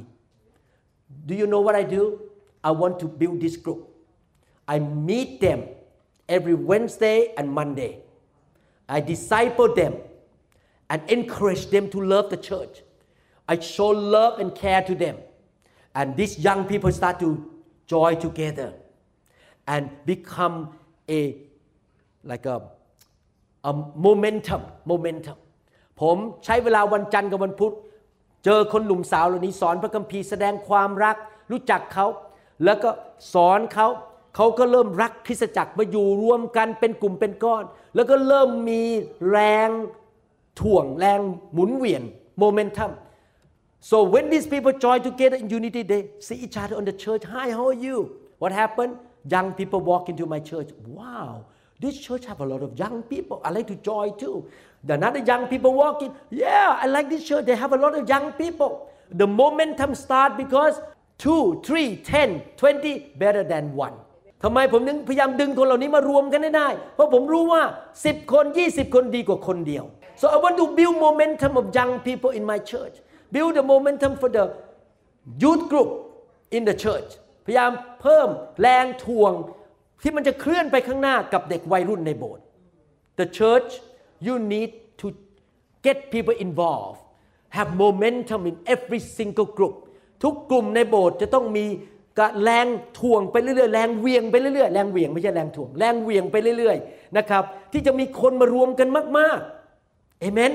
Speaker 2: Do you know what I do I want to build this group I meet them every Wednesday and Monday I disciple them and encourage them to love the church I show love and care to them and these young people start to join together and become a like a a momentum momentum ผมใช้เวลาวันจันทร์กับวันพุธเจอคนหนุ่มสาวเหล่านี้สอนพระคัมภีร์แสดงความรักรู้จักเขาแล้วก็สอนเขาเขาก็เริ่มรักคริสตจักรมาอยู่รวมกันเป็นกลุ่มเป็นก้อนแล้วก็เริ่มมีแรงถ่วงแรงหมุนเวียน momentum so when these people join together in unity they see each other on the church hi how are you what happened young people walk into my church wow this church have a lot of young people I like to join too the another young people walk in yeah I like this church they have a lot of young people the momentum start because two three ten twenty better than oneทำไมผมถึงพยายามดึงคนเหล่านี้มารวมกันได้เพราะผมรู้ว่าสิบคนยี่สิบคนดีกว่าคนเดียว so I want to build momentum of young people in my church build the momentum for the youth group in the church พยายามเพิ่มแรงถ่วงที่มันจะเคลื่อนไปข้างหน้ากับเด็กวัยรุ่นในโบสถ์ the church you need to get people involved have momentum in every single group ทุกกลุ่มในโบสถ์จะต้องมีแรงถ่วงไปเรื่อยๆแรงเวียงไปเรื่อยๆแรงเวียงไม่ใช่แรงถ่วงแรงเวียงไปเรื่อยๆนะครับที่จะมีคนมารวมกันมากๆ Amen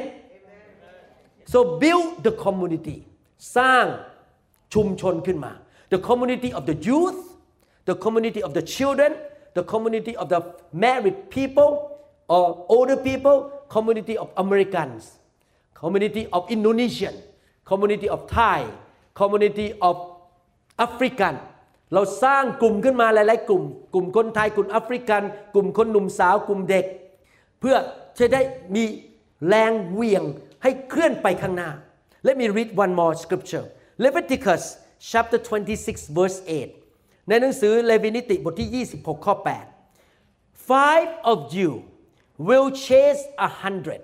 Speaker 2: so build the community สร้างชุมชนขึ้นมา the community of the youth the community of the children the community of the married people or older people community of Americans community of Indonesian community of Thai community of African เราสร้างกลุ่มขึ้นมาหลายๆกลุ่มกลุ่มคนไทยกลุ่มแอฟริกันกลุ่มคนหนุ่มสาวกลุ่มเด็กเพื่อจะได้มีแรงเหวี่ยงให้เคลื่อนไปข้างหน้า Let me read one more scripture Leviticus chapter twenty-six verse eight ในหนังสือเลวีนิติบทที่ยี่สิบหกข้อแปด Five of you will chase a hundred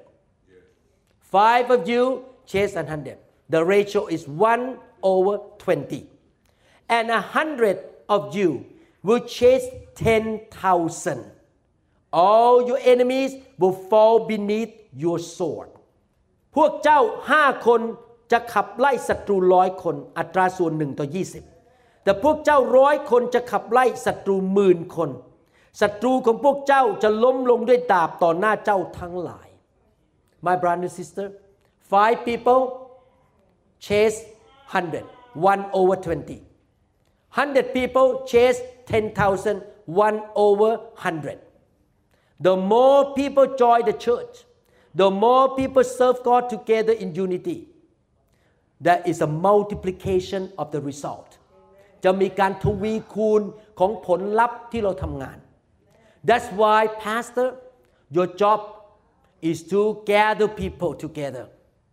Speaker 2: Five of you chase a hundred The ratio is one over twenty and a hundred of you will chase ten thousand all your enemies will fall beneath your sword พวกเจ้าห้าคนจะขับไล่ศัตรูร้อยคนอัตราส่วนหนึ่งต่อยี่สิบแต่พวกเจ้าร้อยคนจะขับไล่ศัตรูหมื่นคนศัตรูของพวกเจ้าจะล้มลงด้วยดาบต่อหน้าเจ้าทั้งหลาย My brother and sister five people chase hundred one over twenty hundred people chase ten thousand one over hundred the more people join the church the more people serve God together in unity there is a multiplication of the result จะมีการทวีคูณของผลลัพธ์ที่เราทำงาน That's why pastor your job is to gather people together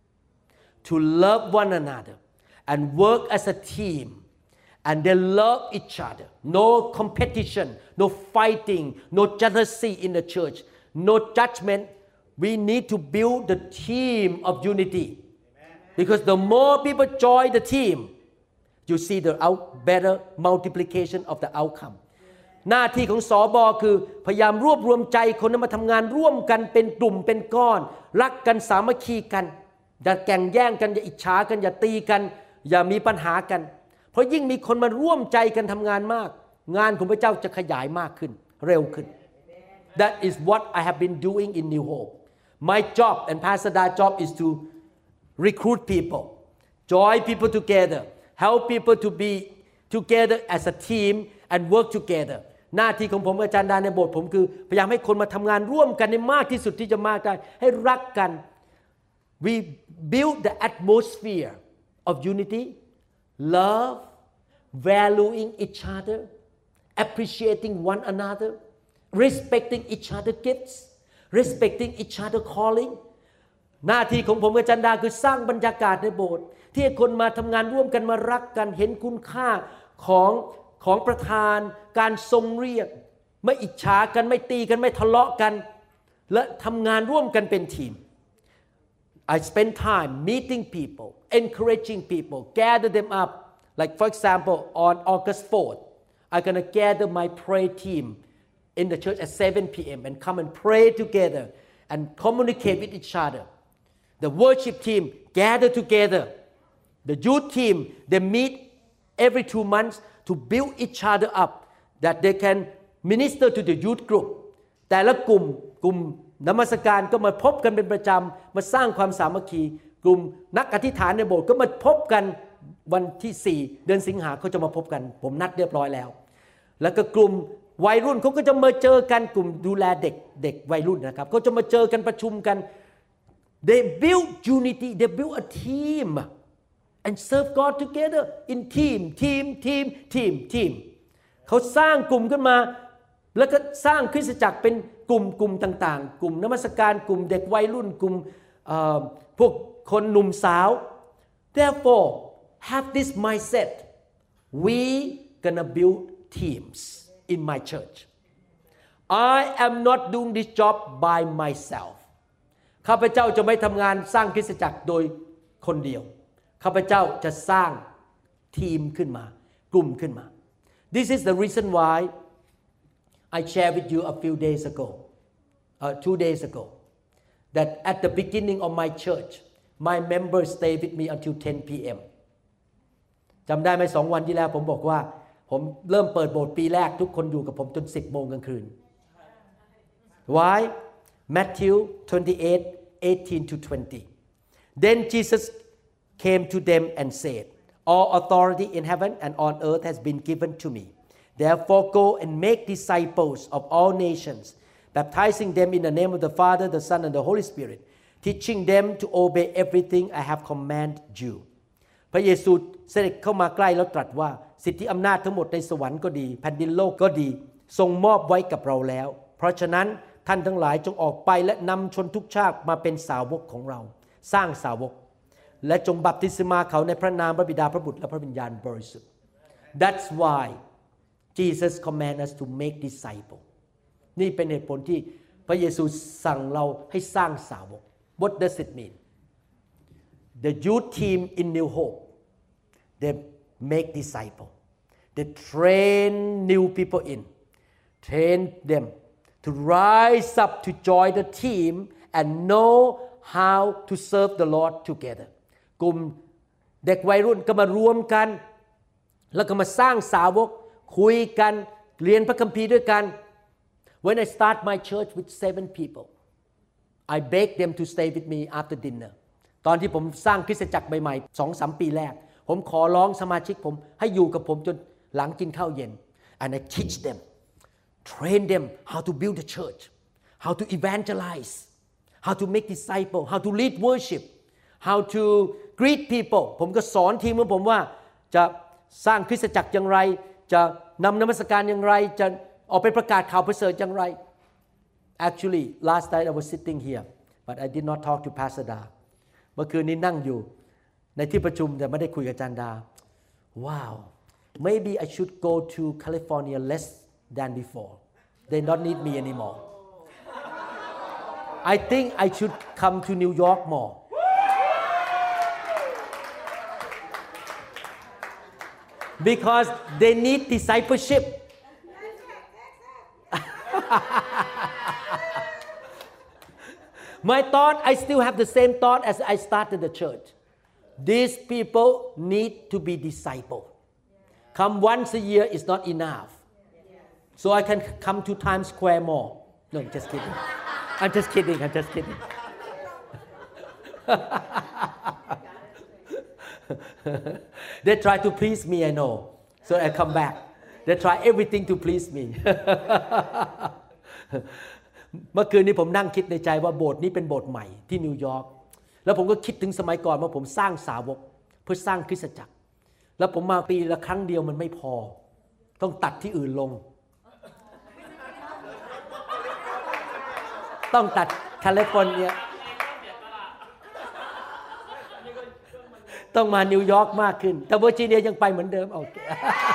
Speaker 2: to love one another and work as a team and they love each other no competition no fighting no jealousy in the church no judgment we need to build the team of unity because the more people join the team you see the out better multiplication of the outcome หน้าที่ของสบคือพยายามรวบรวมใจคนนั้นมาทำงานร่วมกันเป็นกลุ่มเป็นก้อนรักกันสามัคคีกันอย่าแข่งแย่งกันอย่าอิจฉากันอย่าตีกันอย่ามีปัญหากันเพราะยิ่งมีคนมาร่วมใจกันทำงานมากงานของพระเจ้าจะขยายมากขึ้นเร็วขึ้น That is what I have been doing in New Hope my job and Pastor Da's job is to recruit people join people together help people to be together as a team and work together หน้าที่ของผมอาจารย์ดาในโบสถ์ผมคือพยายามให้คนมาทำงานร่วมกันในมากที่สุดที่จะมากได้ให้รักกัน we build the atmosphere of unity love valuing each other appreciating one another respecting each other gifts respecting each other calling หน้าที่ของผมกับจันดาคือสร้างบรรยากาศในโบสถ์ที่ให้คนมาทำงานร่วมกันมารักกันเห็นคุณค่าของของประธานการทรงเรียกไม่อิจฉากันไม่ตีกันไม่ทะเลาะกันและทำงานร่วมกันเป็นทีม I spend time meeting people encouraging people gather them up like for example on August fourth I'm going to gather my prayer team in the church at seven p.m. and come and pray together and communicate with each other the worship team gather together the youth team they meet every two months to build each other up that they can minister to the youth group แต่ละกลุ่มกลุ่มนมัสการก็มาพบกันเป็นประจำมาสร้างความสามัคคีกลุ่มนักอธิษฐานในโบสถ์ก็มาพบกันวันที่สี่เดือนสิงหาเขาจะมาพบกันผมนัดเรียบร้อยแล้วแล้วก็กลุ่มวัยรุ่นเขาก็จะมาเจอกันกลุ่มดูแลเด็กเด็กวัยรุ่นนะครับเขาจะมาเจอกันประชุมกัน they build unity they build a team and serve God together in team team team team team เขาสร้างกลุ่มขึ้นมาแล้วก็สร้างคริสตจักรเป็นกลุ่มกลุ่มต่างๆกลุ่มนมัสการกลุ่มเด็กวัยรุ่นกลุ่มพวกคนหนุ่มสาว therefore have this mindset we gonna build teams in my church I am not doing this job by myself ข้าพเจ้าจะไม่ทำงานสร้างคริสตจักรโดยคนเดียวข้าพเจ้าจะสร้างทีมขึ้นมากลุ่มขึ้นมา This is the reason why I shared with you a few days ago uh, two days ago that at the beginning of my church my members stay with me until ten p.m. จำได้ไหมสองวันที่แล้วผมบอกว่าผมเริ่มเปิดโบสถ์ปีแรกทุกคนอยู่กับผมจนสิบโมงกลางคืน Why Matthew twenty-eight eighteen to twenty Then Jesus came to them and said All authority in heaven and on earth has been given to me Therefore go and make disciples of all nations baptizing them in the name of the Father the Son and the Holy Spirit teaching them to obey everything I have commanded you พระเยซูเสด็จเข้ามาใกล้แล้วตรัสว่าสิทธิอำนาจทั้งหมดในสวรรค์ก็ดีแผ่นดินโลกก็ดีทรงมอบไว้กับเราแล้วเพราะฉะนั้นท่านทั้งหลายจงออกไปและนำชนทุกชาติมาเป็นสาวกของเราสร้างสาวกและจงบัพติศมาเขาในพระนามพระบิดาพระบุตรและพระวิญญาณบริสุทธิ์ That's why Jesus command us to make disciples นี่เป็นเหตุผลที่พระเยซูสั่งเราให้สร้างสาวก What does it mean The youth team in New Hope they make disciples they train new people in train them to rise up to join the team and know how to serve the Lord together กลุ่มเด็กวัยรุ่นก็มารวมกันแล้วก็มาสร้างสาวกคุยกันเรียนพระคัมภีร์ด้วยกัน When I start my church with seven people I beg them to stay with me after dinner ตอนที่ผมสร้างคริสตจักรใหม่ๆ สองสาม ปีแรกผมขอร้องสมาชิกผมให้อยู่กับผมจนหลังกินข้าวเย็น and I teach them train them how to build a church how to evangelize how to make disciples how to lead worship how to greet people ผมก็สอนทีมของผมว่าจะสร้างคริสตจักรอย่างไรจะนำนมัสการอย่างไรจะออกไปประกาศข่าวประเสริฐอย่างไร Actually last night I was sitting here but I did not talk to Pastor Da เมื่อคืนนี้นั่งอยู่ในที่ประชุมแต่ไม่ได้คุยกับอาจารย์ดา Wow maybe I should go to California less than before they don't need me anymore I think I should come to New York more because they need discipleship My thought I still have the same thought as I started the church These people need to be discipled Come once a year is not enough So I can come to Times Square more No just kidding I'm just kidding I'm just kidding They try to please me I know so I come back They try everything to please me เมื่อคืนนี้ผมนั่งคิดในใจว่าโบสถ์นี้เป็นโบสถ์ใหม่ที่นิวยอร์กแล้วผมก็คิดถึงสมัยก่อนว่าผมสร้างสาวกเพื่อสร้างคริสตจักรแล้วผมมาปีละครั้งเดียวมันไม่พอต้องตัดที่อื่นลงต้องตัดแคลิฟอร์เนียต้องมานิวยอร์กมากขึ้นแต่เวอร์จิเนียยังไปเหมือนเดิมโอเค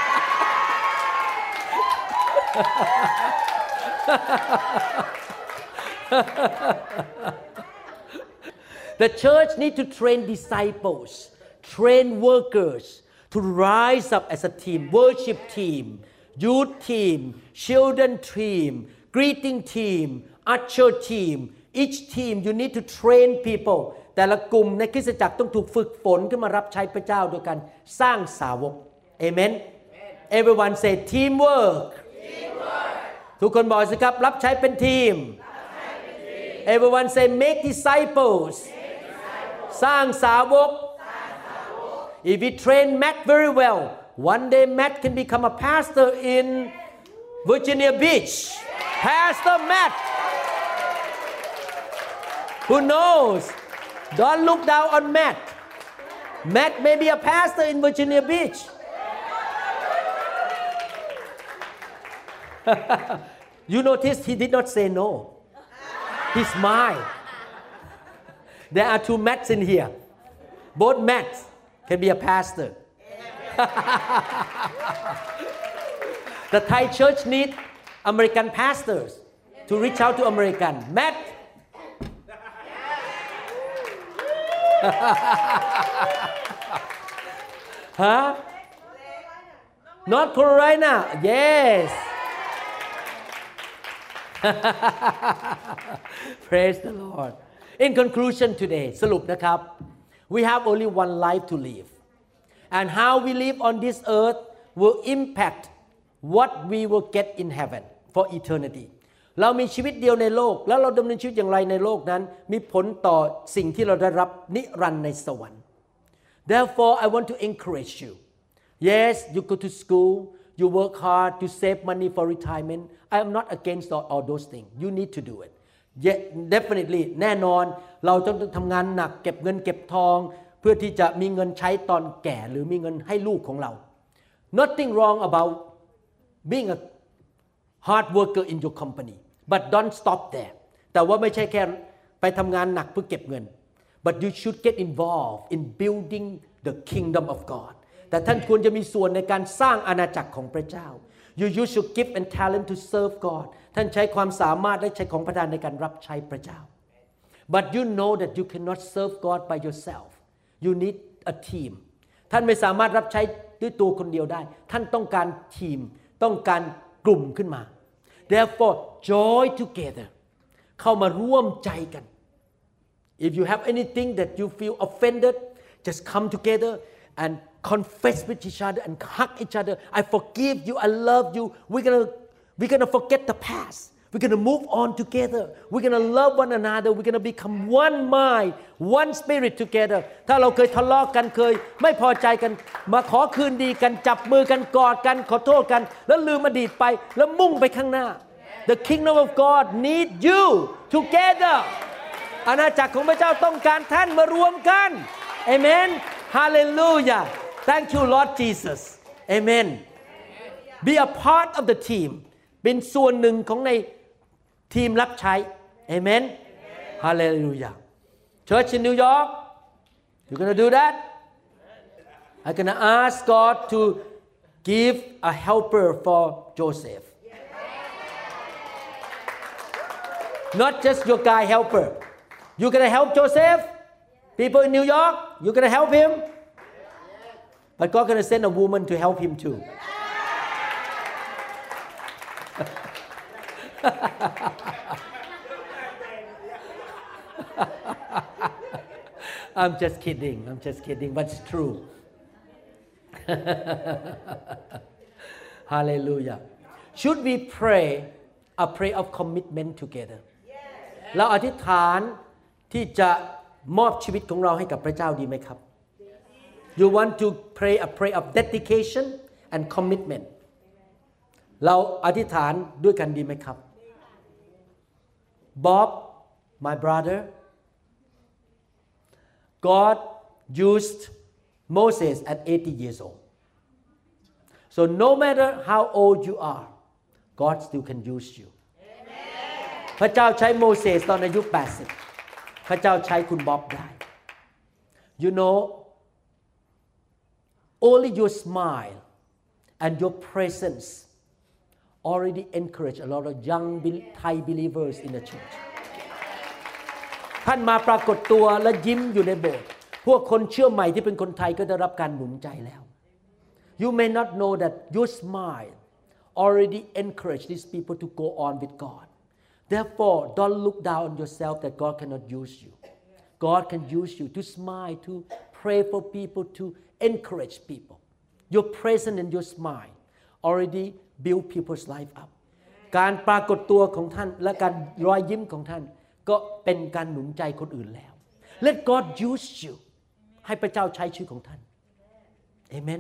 Speaker 2: The church need to train disciples train workers to rise up as a team worship team youth team children team greeting team usher team each team you need to train people แต่ละกลุ่มในคริสตจักรต้องถูกฝึกฝนขึ้นมารับใช้พระเจ้าโดยการสร้างสาวก Amen Everyone say teamwork ทุกคนบอกสิครับรับใช้เป็นทีม Everyone say make disciples สร้างสาวก If we train Matt very well one day Matt can become a pastor in Virginia Beach Pastor Matt Who knows Don't look down on Matt Matt may be a pastor in Virginia Beach You notice he did not say no He smiled There are two Matts in here Both Matts can be a pastor The Thai church need American pastors to reach out to American Matt Huh? North Carolina Yes Praise the Lord In conclusion today สรุปนะครับ We have only one life to live and how we live on this earth will impact what we will get in heaven for eternity เรามีชีวิตเดียวในโลกแล้วเราดำเนินชีวิตอย่างไรในโลกนั้นมีผลต่อสิ่งที่เราได้รับนิรันดร์ในสวรรค์ Therefore I want to encourage you Yes you go to school you work hard to save money for retirement I am not against all, all those things you need to do it yeah, definitely แน่นอนเราต้องทำงานหนักเก็บเงินเก็บทองเพื่อที่จะมีเงินใช้ตอนแก่หรือมีเงินให้ลูกของเรา Nothing wrong about being a hard worker in your company but don't stop there แต่ว่าไม่ใช่แค่ไปทำงานหนักเพื่อเก็บเงิน but you should get involved in building the kingdom of God แต่ท่านควรจะมีส่วนในการสร้างอาณาจักรของพระเจ้า you use your gift and talent to serve God ท่านใช้ความสามารถและใช้ของประทานในการรับใช้พระเจ้า but you know that you cannot serve God by yourself you need a team ท่านไม่สามารถรับใช้ด้วยตัวคนเดียวได้ท่านต้องการทีมต้องการกลุ่มขึ้นมา therefore join together เข้ามาร่วมใจกัน If you have anything that you feel offended, just come together and confess with each other and hug each other. I forgive you. I love you. We're gonna we're gonna forget the past. We're gonna move on together. We're gonna love one another. We're gonna become one mind, one spirit together. ถ้าเราเคยทะเลาะกันเคยไม่พอใจกันมาขอคืนดีกันจับมือกันกอดกันขอโทษกันแล้วลืมอดีตไปแล้วมุ่งไปข้างหน้า The kingdom of God need you together. อาณาจักรของพระเจ้าต้องการท่านมารวมกัน Amen. Hallelujah. Thank you Lord Jesus. Amen. Be a part of the team. เป็นส่วนหนึ่งของในทีมรับใช้ Amen. Hallelujah. Church in New York, you're going to do that? I'm going to ask God to give a helper for Joseph. Not just your guy helper. You're going to help Joseph? People in New York, you're going to help him? But God's going to send a woman to help him too. I'm just kidding. I'm just kidding, but it's true. Hallelujah. Should we pray a prayer of commitment together? เราอธิษฐานที่จะมอบชีวิตของเราให้กับพระเจ้าดีไหมครับ You want to pray a prayer of dedication and commitment เราอธิษฐานด้วยกันดีไหมครับ Bob, my brother, God used Moses at eighty years old. So no matter how old you are, God still can use you. พระเจ้าใช้โมเสสตอนอายุแปดสิบพระเจ้าใช้คุณบ๊อบได้ You know, only your smile and your presence already encourage a lot of young Thai believers in the church. ท่านมาปรากฏตัวและยิ้มอยู่ในโบสถ์พวกคนเชื่อใหม่ที่เป็นคนไทยก็ได้รับการหนุนใจแล้ว You may not know that your smile already encourage these people to go on with God.Therefore, don't look down on yourself that God cannot use you. God can use you to smile, to pray for people, to encourage people. Your presence and your smile already build people's life up. การปรากฏตัวของท่านและการรอยยิ้มของท่านก็เป็นการหนุนใจคนอื่นแล้ว Let God use you ให้พระเจ้าใช้ชีวิตของท่าน Amen.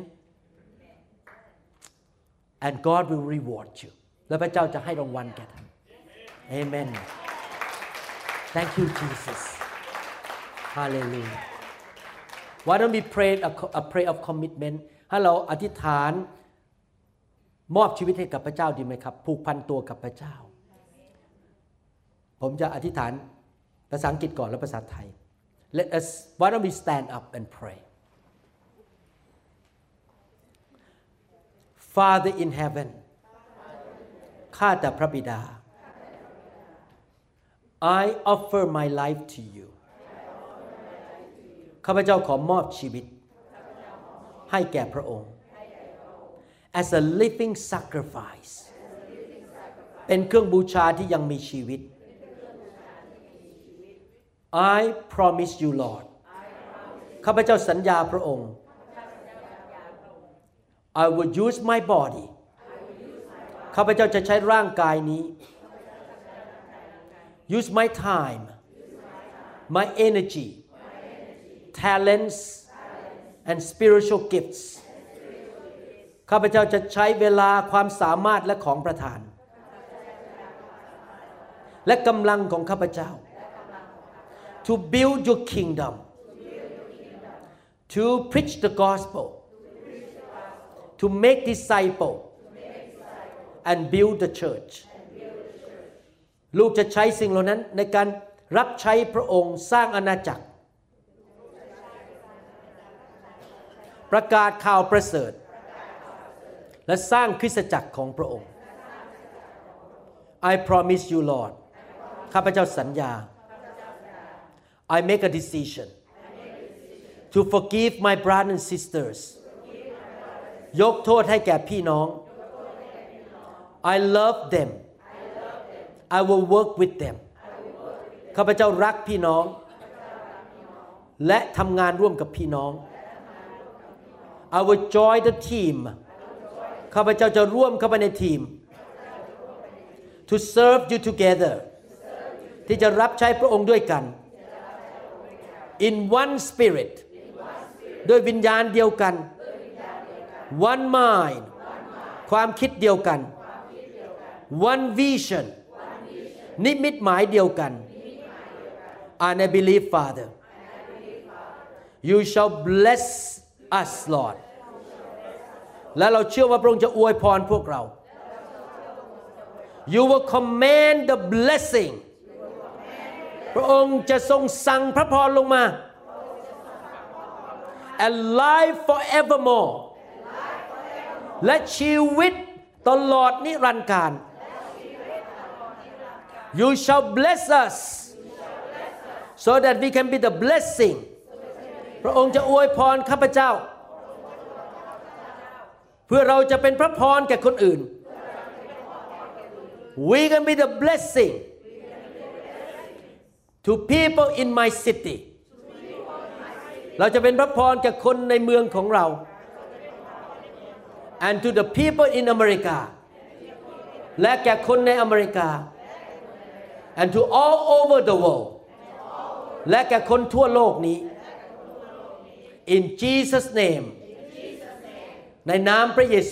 Speaker 2: And God will reward you. และพระเจ้าจะให้รางวัลแก่ท่านAmen. Thank you, Jesus. Hallelujah. Why don't we pray a, a prayer of commitment? ให้เราอธิษฐานมอบชีวิตให้กับพระเจ้าดีไหมครับผูกพันตัวกับพระเจ้าผมจะอธิษฐานภาษาอังกฤษก่อนแล้วภาษาไทย Let us why don't we stand up and pray? Father in heaven ข้าแต่พระบิดาI offer my life to you ข้าพเจ้าขอมอบชีวิตให้แก่พระองค์ as a living sacrifice เป็นเครื่องบูชาที่ยังมีชีวิต I promise you Lord ข้าพเจ้าสัญญาพระองค์ I will use my body ข้าพเจ้าจะใช้ร่างกายนี้Use my time, my energy, talents, and spiritual gifts. ข้าพเจ้าจะใช้เวลาความสามารถและของประทานและกำลังของข้าพเจ้า to build your kingdom, to preach the gospel, to make disciples, and build the church.ลูกจะใช้สิ่งเหล่านั้นในการรับใช้พระองค์สร้างอาณาจักรประกาศข่าวประเสริฐและสร้างคริสตจักรของพระองค์ I promise you Lord ข้าพเจ้าสัญญา I make a decision to forgive my brothers and sisters ยกโทษให้แก่พี่น้อง I love them I will work with them ข้าพเจ้ารักพี่น้องและทำงานร่วมกับพี่น้อง I will join the team ข้าพเจ้าจะร่วมเข้าไปในทีม To serve you together ที่จะรับใช้พระองค์ด้วยกัน In one spirit ด้วยวิญญาณเดียวกัน One mind ความคิดเดียวกัน One vision นิมิตหมายเดียวกัน And I believe Father You shall bless us Lord และเราเชื่อว่าพระองค์จะอวยพรพวกเรา You will command the blessing พระองค์จะทรงสั่งพระพรลงมา And life forevermore และชีวิตตลอดนิรันดร์กาล You shall bless us so that we can be the blessing พระองค์จะอวยพรข้าพเจ้าเพื่อเราจะเป็นพระพรแก่คนอื่น We can be the blessing to people in my city เราจะเป็นพระพรแก่คนในเมืองของเรา and to the people in America และแก่คนในอเมริกา and to all over the world และแก่คนทั่วโลกนี้ in Jesus name ในนามพระเยซู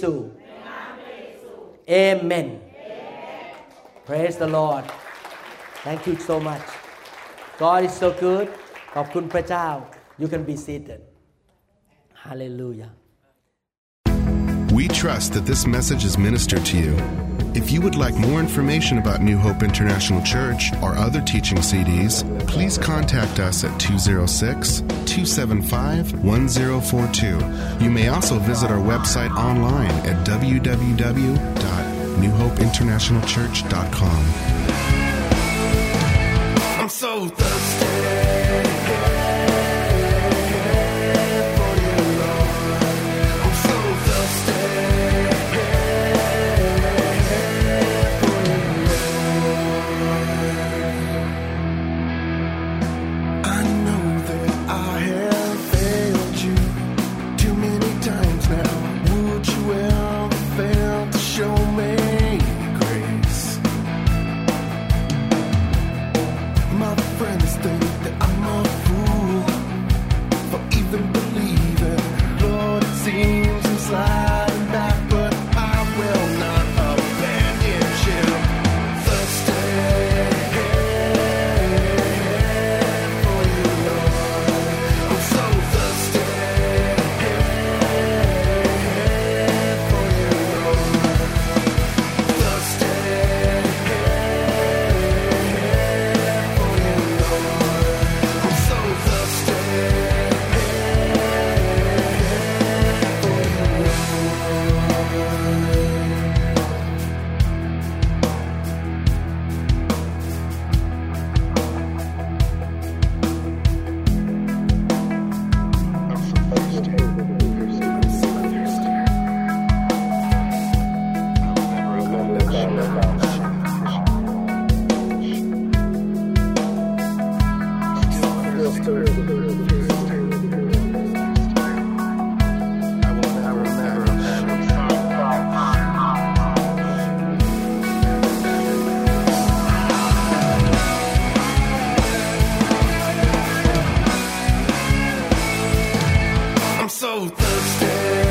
Speaker 2: Amen Praise the Lord Thank you so much God is so good ขอบคุณพระเจ้า You can be seated Hallelujah
Speaker 1: We trust that this message is ministered to you. If you would like more information about New Hope International Church or other teaching C Ds, please contact us at two oh six, two seven five, one oh four two. You may also visit our website online at w w w dot new hope international church dot com. I'm so thirsty. I'm so thirsty.